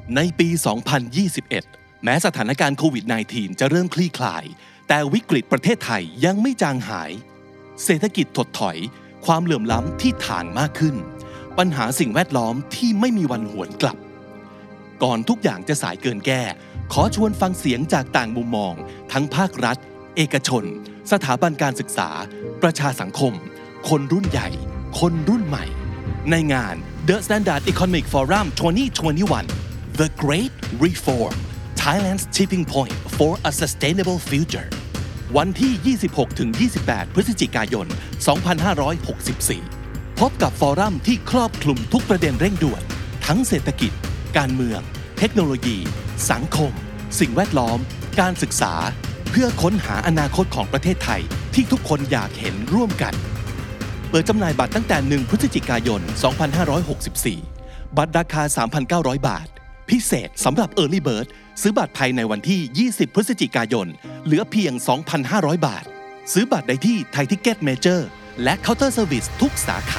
ในปี 2021 แม้สถานการณ์โควิด -19 จะเริ่มคลี่คลายแต่วิกฤตประเทศไทยยังไม่จางหายเศรษฐกิจถดถอยความเหลื่อมล้ำที่ถ่างมากขึ้นปัญหาสิ่งแวดล้อมที่ไม่มีวันหวนกลับก่อนทุกอย่างจะสายเกินแก้ขอชวนฟังเสียงจากต่างมุมมองทั้งภาครัฐเอกชนสถาบันการศึกษาประชาสังคมคนรุ่นใหญ่คนรุ่นใหม่ในงาน The Standard Economic Forum 2021 The Great Reform Thailand's Tipping Point for a Sustainable Future วันที่ 26-28 พฤศจิกายน 2564 พบกับฟอรัมที่ครอบคลุมทุกประเด็นเร่งด่วนทั้งเศรษฐกิจการเมืองเทคโนโลยีสังคมสิ่งแวดล้อมการศึกษาเพื่อค้นหาอนาคตของประเทศไทยที่ทุกคนอยากเห็นร่วมกันเปิดจำหน่ายบัตรตั้งแต่1พฤศจิกายน 2564 บัตรราคา 3,900 บาทพิเศษสำหรับ Early Bird ซื้อบัตรภายในวันที่ 20 พฤศจิกายนเหลือเพียง 2,500 บาทซื้อบัตรได้ที่ไทยทิกเก็ตเมเจอร์และเคาน์เตอร์เซอร์วิสทุกสาขา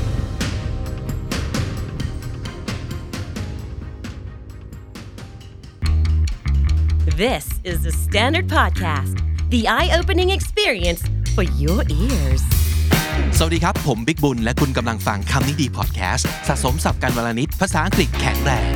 This is the Standard Podcast, the eye-opening experience for your ears. สวัสดีครับผมบิ๊กบุญและคุณกำลังฟังคำนี้ดีพอดแคสต์สะสมศัพท์กันวลนิดภาษาอังกฤษแข็งแรง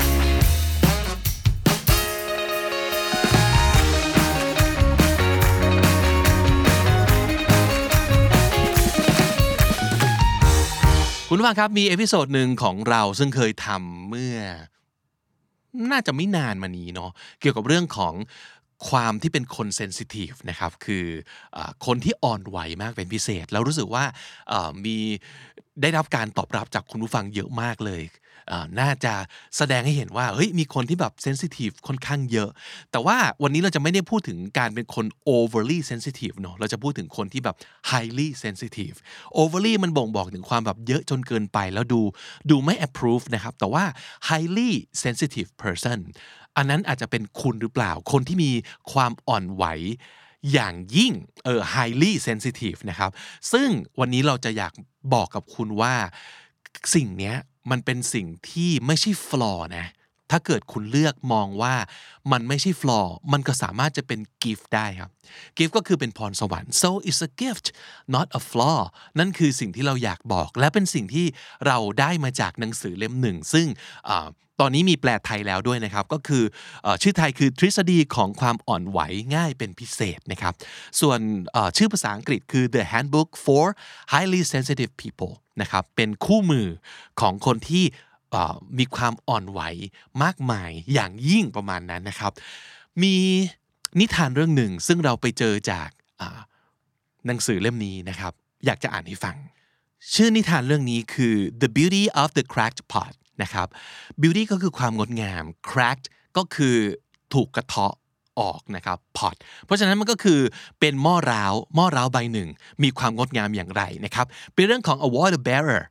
คุณผู้ฟังครับมีเอพิโซดหนึ่งของเราซึ่งเคยทำเมื่อน่าจะไม่นานมานี้เนาะเกี่ยวกับเรื่องของความที่เป็นคนเซนซิทีฟนะครับคือคนที่อ่อนไหวมากเป็นพิเศษแล้วรู้สึกว่ามีได้รับการตอบรับจากคุณผู้ฟังเยอะมากเลยน่าจะแสดงให้เห็นว่าเฮ้ยมีคนที่แบบเซนซิทีฟค่อนข้างเยอะแต่ว่าวันนี้เราจะไม่ได้พูดถึงการเป็นคน overly sensitive เนาะเราจะพูดถึงคนที่แบบ highly sensitive overly มันบ่งบอกถึงความแบบเยอะจนเกินไปแล้วดูไม่ approve นะครับแต่ว่า highly sensitive person อันนั้นอาจจะเป็นคุณหรือเปล่าคนที่มีความอ่อนไหวอย่างยิ่งhighly sensitive นะครับซึ่งวันนี้เราจะอยากบอกกับคุณว่าสิ่งเนี้ยมันเป็นสิ่งที่ไม่ใช่ flaw นะถ้าเกิดคุณเลือกมองว่ามันไม่ใช่ flaw มันก็สามารถจะเป็น gift ได้ครับ gift ก็คือเป็นพรสวรรค์ so it's a gift not a flaw นั่นคือสิ่งที่เราอยากบอกและเป็นสิ่งที่เราได้มาจากหนังสือเล่มหนึ่งซึ่งตอนนี้มีแปลไทยแล้วด้วยนะครับก็คือชื่อไทยคือทฤษฎีของความอ่อนไหวง่ายเป็นพิเศษนะครับส่วนชื่อภาษาอังกฤษคือ The Handbook for Highly Sensitive People นะครับเป็นคู่มือของคนที่มีความอ่อนไหวมากมายอย่างยิ่งประมาณนั้นนะครับมีนิทานเรื่องหนึ่งซึ่งเราไปเจอจากหนังสือเล่มนี้นะครับอยากจะอ่านให้ฟังชื่อนิทานเรื่องนี้คือ The Beauty of the Cracked Pot นะครับ Beauty ก็คือความงดงาม Cracked ก็คือถูกกระเทาะออกนะครับ pot เพราะฉะนั้นมันก็คือเป็นหม้อร้าวใบหนึ่งมีความงดงามอย่างไรนะครับเป็นเรื่องของ a water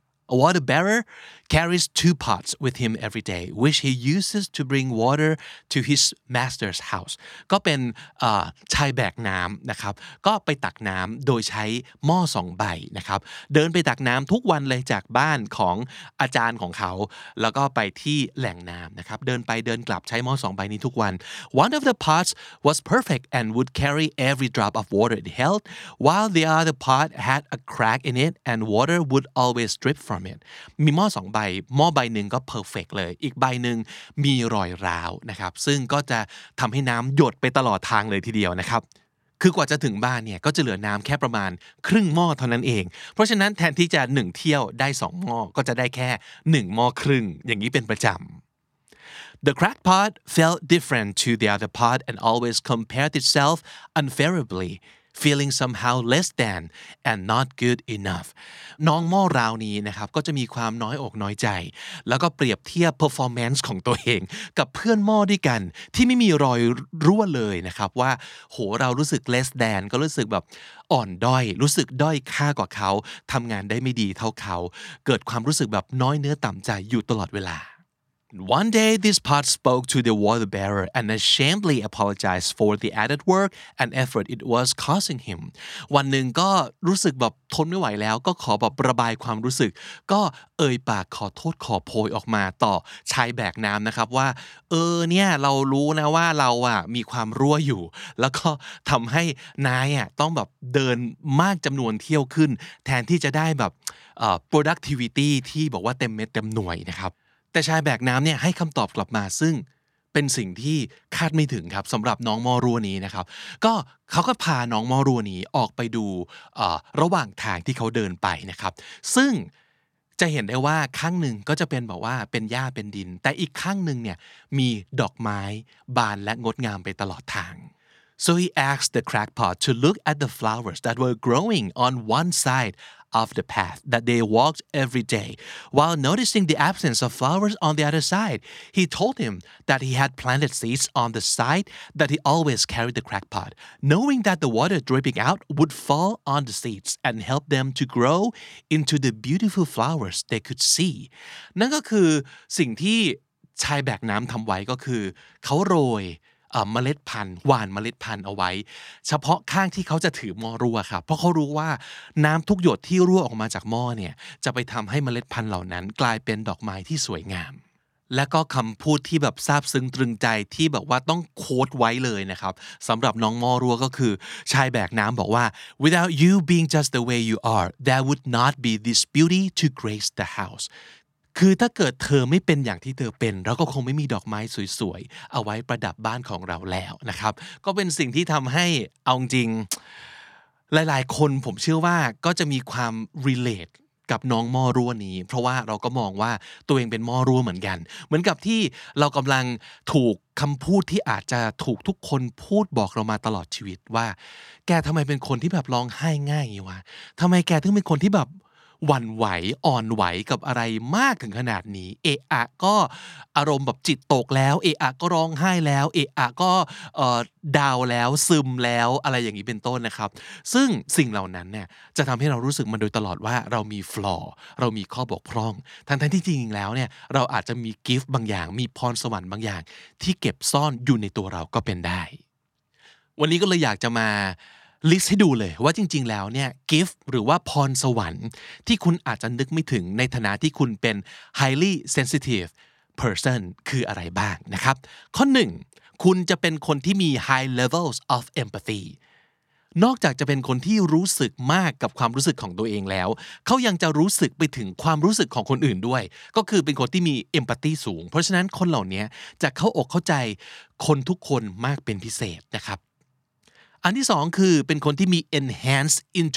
bearer carries 2 pots with him every day which he uses to bring water to his master's house ก็เป็นชายแบกน้ำนะครับก็ไปตักน้ำโดยใช้หม้อ2ใบนะครับเดินไปตักน้ำทุกวันเลยจากบ้านของอาจารย์ของเขาแล้วก็ไปที่แหล่งน้ำนะครับเดินไปเดินกลับใช้หม้อ2ใบนี้ทุกวัน One of the pots was perfect and would carry every drop of water it held while the other pot had a crack in it and water would always drip from it มีหม้อ2ใบหม้อใบหนึ่งก็ perfect เลยอีกใบหนึ่งมีรอยร้าวนะครับซึ่งก็จะทำให้น้ำหยดไปตลอดทางเลยทีเดียวนะครับคือกว่าจะถึงบ้านเนี่ยก็จะเหลือน้ำแค่ประมาณครึ่งหม้อเท่านั้นเองเพราะฉะนั้นแทนที่จะ1เที่ยวได้2หม้อก็จะได้แค่1หม้อครึ่งอย่างนี้เป็นประจำThe cracked pot felt different to the other pot and always compared itself unfavorably feeling somehow less than and not good enough น้องหม้อราวนี้นะครับก็จะมีความน้อยอกน้อยใจแล้วก็เปรียบเทียบ performance ของตัวเองกับเพื่อนหม้อด้วยกันที่ไม่มีรอยรั่วเลยนะครับว่าโหเรารู้สึก less than ก็รู้สึกแบบอ่อนด้อยรู้สึกด้อยค่ากว่าเขาทำงานได้ไม่ดีเท่าเขาเกิดความรู้สึกแบบน้อยเนื้อต่ำใจอยู่ตลอดเวลา One day, this pot spoke to the water bearer and ashamedly apologized for the added work and effort it was causing him. วันหนึ่งก็รู้สึกแบบทนไม่ไหวแล้วก็ขอแบบระบายความรู้สึกก็เอ่ยปากขอโทษขอโพยออกมาต่อชายแบกน้ำนะครับว่าเนี่ยเรารู้นะว่าเรามีความรั่วอยู่แล้วก็ทำให้นายต้องแบบเดินมากจำนวนเที่ยวขึ้นแทนที่จะได้แบบproductivity ที่บอกว่าเต็มเม็ดเต็มหน่วยนะครับแต่ชายแบกน้ำเนี่ยให้คำตอบกลับมาซึ่งเป็นสิ่งที่คาดไม่ถึงครับสำหรับน้องมอรัวนี้นะครับก็เขาก็พาน้องมอรัวนี้ออกไปดูระหว่างทางที่เขาเดินไปนะครับซึ่งจะเห็นได้ว่าข้างหนึ่งก็จะเป็นแบบว่าเป็นหญ้าเป็นดินแต่อีกข้างหนึ่งเนี่ยมีดอกไม้บานและงดงามไปตลอดทางSo he asked the crackpot to look at the flowers that were growing on one side of the path that they walked every day. While noticing the absence of flowers on the other side, he told him that he had planted seeds on the side that he always carried the crackpot, knowing that the water dripping out would fall on the seeds and help them to grow into the beautiful flowers they could see. นั่นก็คือสิ่งที่ชายแบกน้ำทำไว้ก็คือเขาโรยเมล็ดพันธุ์หว่านเมล็ดพันธุ์เอาไว้เฉพาะข้างที่เขาจะถือหม้อรั่วครับเพราะเขารู้ว่าน้ำทุกหยดที่รั่วออกมาจากหม้อเนี่ยจะไปทำให้เมล็ดพันธุ์เหล่านั้นกลายเป็นดอกไม้ที่สวยงามและก็คำพูดที่แบบซาบซึ้งตรึงใจที่แบบว่าต้องโค้ดไว้เลยนะครับสำหรับน้องหม้อรั่วก็คือชายแบกน้ำบอกว่า without you being just the way you are there would not be this beauty to grace the houseคือถ้าเกิดเธอไม่เป็นอย่างที่เธอเป็นเราก็คงไม่มีดอกไม้สวยๆเอาไว้ประดับบ้านของเราแล้วนะครับก็เป็นสิ่งที่ทำให้เอาจริงหลายๆคนผมเชื่อว่าก็จะมีความ relate กับน้องหม้อรั่วนี้เพราะว่าเราก็มองว่าตัวเองเป็นหม้อรั่วเหมือนกันเหมือนกับที่เรากำลังถูกคำพูดที่อาจจะถูกทุกคนพูดบอกเรามาตลอดชีวิตว่าแกทำไมเป็นคนที่แบบร้องไห้ง่ายวะทำไมแกถึงเป็นคนที่แบบหวั่นไหวอ่อนไหวกับอะไรมากถึงขนาดนี้เอะอะก็อารมณ์แบบจิตตกแล้วเอะอะก็ร้องไห้แล้วเอะอะก็ดาวแล้วซึมแล้วอะไรอย่างนี้เป็นต้นนะครับซึ่งสิ่งเหล่านั้นเนี่ยจะทำให้เรารู้สึกมาโดยตลอดว่าเรามีฟลอร์เรามีข้อบกพร่องทั้งที่จริงๆแล้วเนี่ยเราอาจจะมีกิฟต์บางอย่างมีพรสวรรค์บางอย่างที่เก็บซ่อนอยู่ในตัวเราก็เป็นได้วันนี้ก็เลยอยากจะมาลิสต์ให้ดูเลยว่าจริงๆแล้วเนี่ยกิฟต์หรือว่าพรสวรรค์ที่คุณอาจจะนึกไม่ถึงในฐานะที่คุณเป็น highly sensitive person คืออะไรบ้างนะครับข้อ1คุณจะเป็นคนที่มี high levels of empathy นอกจากจะเป็นคนที่รู้สึกมากกับความรู้สึกของตัวเองแล้วเขายังจะรู้สึกไปถึงความรู้สึกของคนอื่นด้วยก็คือเป็นคนที่มี empathy สูงเพราะฉะนั้นคนเหล่านี้จะเข้าอกเข้าใจคนทุกคนมากเป็นพิเศษนะครับอันที่สองคือเป็นคนที่มี enhanced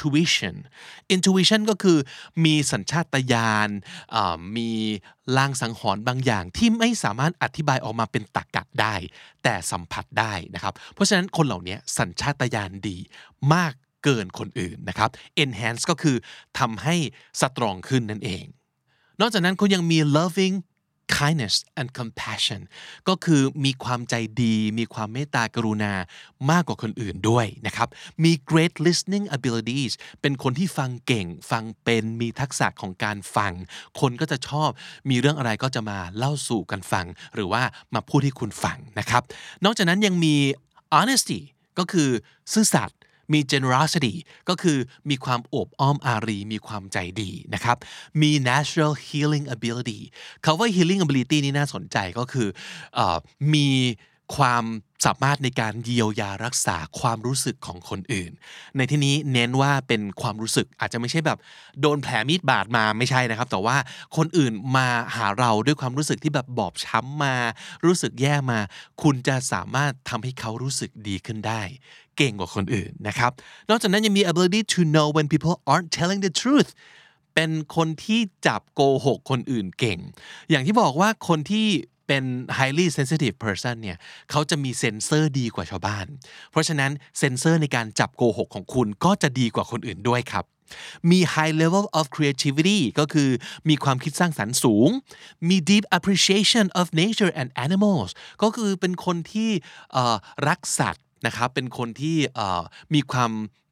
intuition ก็คือมีสัญชาตญาณมีลางสังหรณ์บางอย่างที่ไม่สามารถอธิบายออกมาเป็นตรรกะได้แต่สัมผัสได้นะครับเพราะฉะนั้นคนเหล่านี้สัญชาตญาณดีมากเกินคนอื่นนะครับ enhance ก็คือทำให้สตรองขึ้นนั่นเองนอกจากนั้นคุณยังมี loving kindness and compassion ก็คือมีความใจดีมีความเมตตากรุณามากกว่าคนอื่นด้วยนะครับมี great listening abilities เป็นคนที่ฟังเก่งฟังเป็นมีทักษะของการฟังคนก็จะชอบมีเรื่องอะไรก็จะมาเล่าสู่กันฟังหรือว่ามาพูดให้คุณฟังนะครับนอกจากนั้นยังมี honesty ก็คือซื่อสัตย์มี generosity ก็คือมีความโอบอ้อมอารีมีความใจดีนะครับมี natural healing ability คำว่า healing ability นี่น่าสนใจก็คือมีความสามารถในการเยียวยารักษาความรู้สึกของคนอื่นในที่นี้เน้นว่าเป็นความรู้สึกอาจจะไม่ใช่แบบโดนแผลมีดบาดมาไม่ใช่นะครับแต่ว่าคนอื่นมาหาเราด้วยความรู้สึกที่แบบบอบช้ำมารู้สึกแย่มาคุณจะสามารถทำให้เขารู้สึกดีขึ้นได้เก่งกว่าคนอื่นนะครับนอกจากนั้นยังมี ability to know when people aren't telling the truth เป็นคนที่จับโกหกคนอื่นเก่งอย่างที่บอกว่าคนที่เป็น highly sensitive person เนี่ยเขาจะมีเซ็นเซอร์ดีกว่าชาวบ้านเพราะฉะนั้นเซ็นเซอร์ในการจับโกหกของคุณก็จะดีกว่าคนอื่นด้วยครับมี high level of creativity ก็คือมีความคิดสร้างสรรค์สูงมี deep appreciation of nature and animals ก็คือเป็นคนที่รักสัตว์นะครับเป็นคนที่มีความ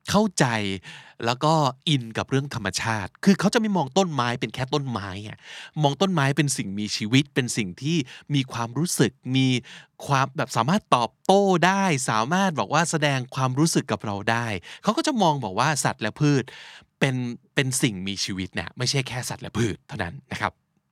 เข้าใจแล้วก็อินกับเรื่องธรรมชาติคือเขาจะไม่มองต้นไม้เป็นแค่ต้นไม้อะมองต้นไม้เป็นสิ่งมีชีวิตเป็นสิ่งที่มีความรู้สึกมีความแบบสามารถตอบโต้ได้สามารถบอกว่าแสดงความรู้สึกกับเราได้เขาก็จะมองบอกว่าสัตว์และพืชเป็นสิ่งมีชีวิตเนี่ยไม่ใช่แค่สัตว์และพืชเท่านั้นนะครับ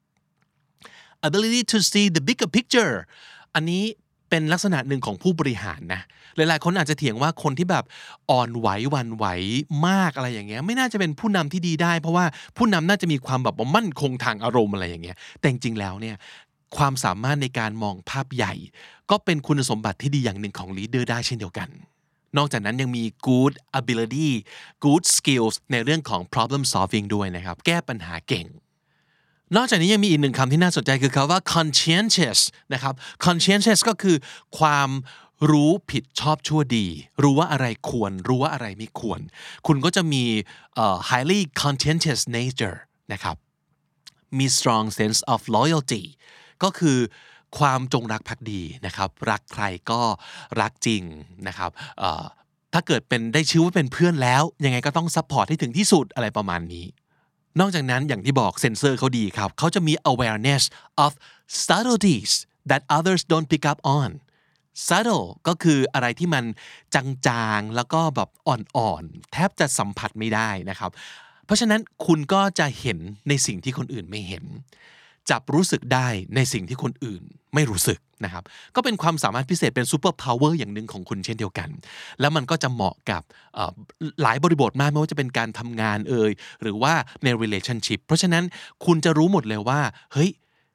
ability to see the bigger picture อันนี้เป็นลักษณะหนึ่งของผู้บริหารนะหลายๆคนอาจจะเถียงว่าคนที่แบบอ่อนไหวหวั่นไหวมากอะไรอย่างเงี้ยไม่น่าจะเป็นผู้นำที่ดีได้เพราะว่าผู้นำน่าจะมีความแบบมั่นคงทางอารมณ์อะไรอย่างเงี้ยแต่จริงๆแล้วเนี่ยความสามารถในการมองภาพใหญ่ก็เป็นคุณสมบัติที่ดีอย่างหนึ่งของลีดเดอร์ได้เช่นเดียวกันนอกจากนั้นยังมี good ability good skills ในเรื่องของ problem solving ด้วยนะครับแก้ปัญหาเก่งนอกจากนี้ยังมีอีกหนึ่งคำที่น่าสนใจคือคำว่า conscientious นะครับ conscientious ก็คือความรู้ผิดชอบชั่วดีรู้ว่าอะไรควรรู้ว่าอะไรไม่ควรคุณก็จะมี highly conscientious nature นะครับมี strong sense of loyalty ก็คือความจงรักภักดีนะครับรักใครก็รักจริงนะครับถ้าเกิดเป็นได้ชื่อว่าเป็นเพื่อนแล้วยังไงก็ต้อง support ให้ถึงที่สุดอะไรประมาณนี้นอกจากนั้นอย่างที่บอกเซนเซอร์เขาดีครับเขาจะมี awareness of subtleties that others don't pick up on subtle ก็คืออะไรที่มันจางๆแล้วก็แบบอ่อนๆแทบจะสัมผัสไม่ได้นะครับเพราะฉะนั้นคุณก็จะเห็นในสิ่งที่คนอื่นไม่เห็นจับรู้สึกได้ในสิ่งที่คนอื่นไม่รู้สึกนะครับก็เป็นความสามารถพิเศษเป็นซูเปอร์พาวเวอร์อย่างหนึ่งของคุณเช่นเดียวกันแล้วมันก็จะเหมาะกับหลายบริบทมากไม่ว่าจะเป็นการทำงานหรือว่าใน relationship เพราะฉะนั้นคุณจะรู้หมดเลยว่าเฮ้ย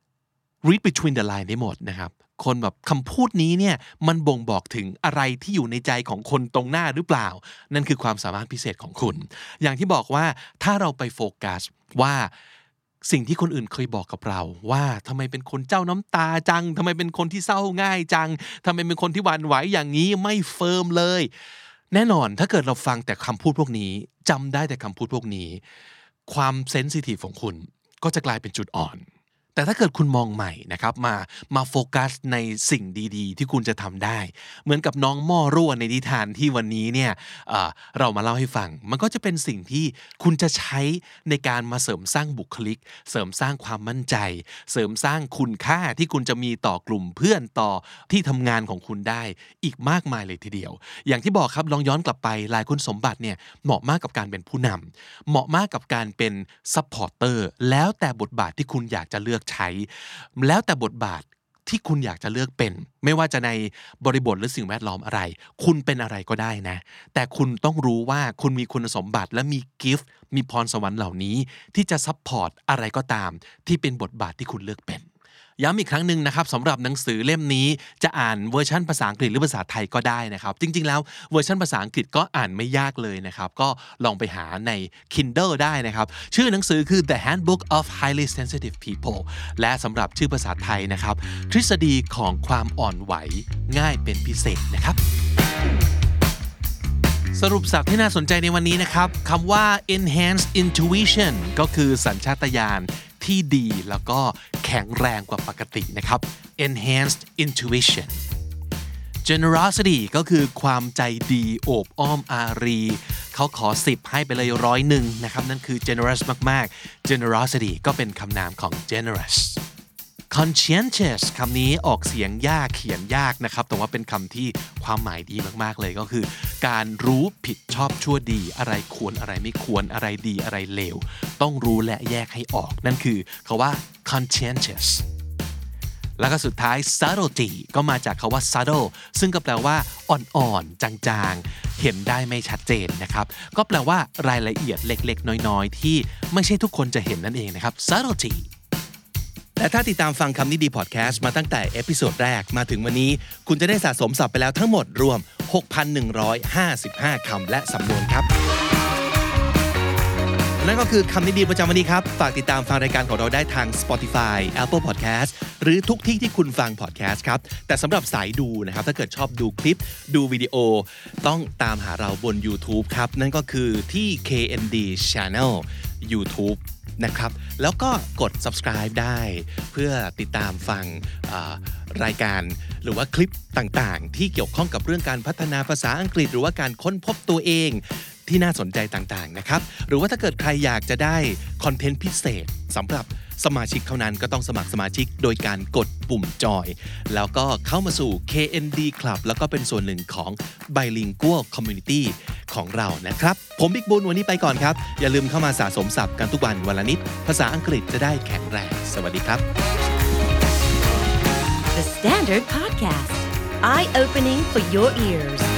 read between the line ได้หมดนะครับคนแบบคำพูดนี้เนี่ยมันบ่งบอกถึงอะไรที่อยู่ในใจของคนตรงหน้าหรือเปล่านั่นคือความสามารถพิเศษของคุณอย่างที่บอกว่าถ้าเราไปโฟกัสว่าสิ่งที่คนอื่นเคยบอกกับเราว่าทำไมเป็นคนเจ้าน้ำตาจังทำไมเป็นคนที่เศร้าง่ายจังทำไมเป็นคนที่หวั่นไหวอย่างนี้ไม่เฟิร์มเลยแน่นอนถ้าเกิดเราฟังแต่คำพูดพวกนี้จำได้แต่คำพูดพวกนี้ความเซนซิทีฟของคุณก็จะกลายเป็นจุดอ่อนแต่ถ้าเกิดคุณมองใหม่นะครับมาโฟกัสในสิ่งดีๆที่คุณจะทำได้เหมือนกับน้องหม้อรั่วในนิทานที่วันนี้เนี่ยเรามาเล่าให้ฟังมันก็จะเป็นสิ่งที่คุณจะใช้ในการมาเสริมสร้างบุคลิกเสริมสร้างความมั่นใจเสริมสร้างคุณค่าที่คุณจะมีต่อกลุ่มเพื่อนต่อที่ทำงานของคุณได้อีกมากมายเลยทีเดียวอย่างที่บอกครับลองย้อนกลับไปหลายคุณสมบัติเนี่ยเหมาะมากกับการเป็นผู้นำเหมาะมากกับการเป็นซัพพอร์เตอร์แล้วแต่บทบาทที่คุณอยากจะเลือกใช้แล้วแต่บทบาทที่คุณอยากจะเลือกเป็นไม่ว่าจะในบริบทหรือสิ่งแวดล้อมอะไรคุณเป็นอะไรก็ได้นะแต่คุณต้องรู้ว่าคุณมีคุณสมบัติและมีกิฟต์มีพรสวรรค์เหล่านี้ที่จะซัพพอร์ตอะไรก็ตามที่เป็นบทบาทที่คุณเลือกเป็นย้ำอีกครั้งหนึ่งนะครับสำหรับหนังสือเล่มนี้จะอ่านเวอร์ชันภาษาอังกฤษหรือภาษาไทยก็ได้นะครับจริงๆแล้วเวอร์ชันภาษาอังกฤษก็อ่านไม่ยากเลยนะครับก็ลองไปหาใน Kindle ได้นะครับชื่อหนังสือคือ The Handbook of Highly Sensitive People และสำหรับชื่อภาษาไทยนะครับทฤษฎีของความอ่อนไหวง่ายเป็นพิเศษนะครับสรุปศัพท์ที่น่าสนใจในวันนี้นะครับคำว่า enhanced intuition ก็คือสัญชาตญาณที่ดีแล้วก็แข็งแรงกว่าปกตินะครับ enhanced intuition generosity ก็คือความใจดีโอบอ้อมอารีเขาขอ10ให้ไปเลย100นะครับนั่นคือ generous มากๆ generosity ก็เป็นคำนามของ generous conscientious คำนี้ออกเสียงยากเขียนยากนะครับแต่ว่าเป็นคำที่ความหมายดีมากๆเลยก็คือการรู้ผิดชอบชั่วดีอะไรควรอะไรไม่ควรอะไรดีอะไรเลวต้องรู้และแยกให้ออกนั่นคือคำว่า conscientious แล้วก็สุดท้าย subtlety ก็มาจากคำว่า subtle ซึ่งก็แปลว่าอ่อนๆจางๆเห็นได้ไม่ชัดเจนนะครับก็แปลว่ารายละเอียดเล็กๆน้อยๆที่ไม่ใช่ทุกคนจะเห็นนั่นเองนะครับ subtletyและถ้าติดตามฟังคำนี้ดีพอดแคสต์มาตั้งแต่เอพิโซดแรกมาถึงวันนี้คุณจะได้สะสมศัพท์ไปแล้วทั้งหมดรวม 6,155 คำและสำนวนครับนั่นก็คือคำนี้ดีประจำวันนี้ครับฝากติดตามฟังรายการของเราได้ทาง Spotify Apple Podcast หรือทุกที่ที่คุณฟัง podcast ครับแต่สำหรับสายดูนะครับถ้าเกิดชอบดูคลิปดูวิดีโอต้องตามหาเราบน YouTube ครับนั่นก็คือที่ KND Channel YouTubeนะครับแล้วก็กด subscribe ได้เพื่อติดตามฟังรายการหรือว่าคลิปต่างๆที่เกี่ยวข้องกับเรื่องการพัฒนาภาษาอังกฤษหรือว่าการค้นพบตัวเองที่น่าสนใจต่างๆนะครับหรือว่าถ้าเกิดใครอยากจะได้คอนเทนต์พิเศษสำหรับสมาชิกเท่านั้นก็ต้องสมัครสมาชิกโดยการกดปุ่มจอยแล้วก็เข้ามาสู่ KND Club แล้วก็เป็นส่วนหนึ่งของ Bilingual Community ของเรานะครับผมบิ๊กบุญวันนี้ไปก่อนครับอย่าลืมเข้ามาสะสมศัพท์กันทุกวันวันละนิดภาษาอังกฤษจะได้แข็งแรงสวัสดีครับ The Standard Podcast, eye-opening for your ears.